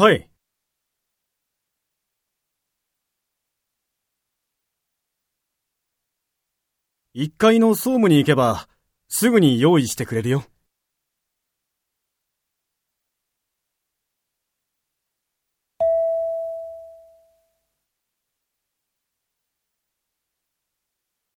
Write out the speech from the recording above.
はい。1階の総務に行けば、すぐに用意してくれるよ。